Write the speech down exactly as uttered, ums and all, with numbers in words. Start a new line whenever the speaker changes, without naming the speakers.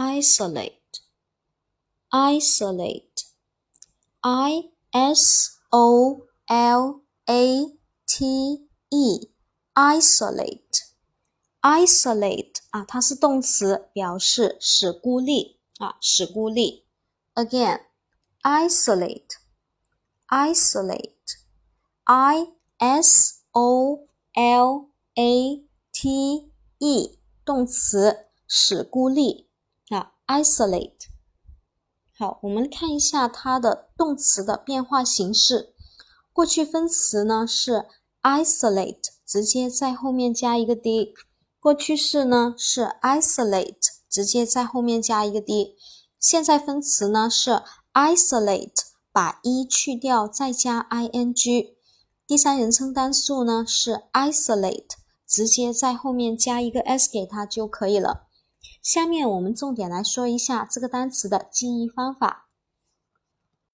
isolate, isolate, I S O L A T E, isolate, isolate 啊，它是动词，表示使孤立啊，使孤立。Again, isolate, isolate, I S O L A T E, 动词，使孤立啊 ，isolate。好，我们看一下它的动词的变化形式。过去分词呢是 isolate， 直接在后面加一个 d。过去式呢是 isolate， 直接在后面加一个 d。现在分词呢是 isolate， 把 e 去掉再加 ing。第三人称单数呢是 isolate， 直接在后面加一个 s 给它就可以了。下面我们重点来说一下这个单词的记忆方法。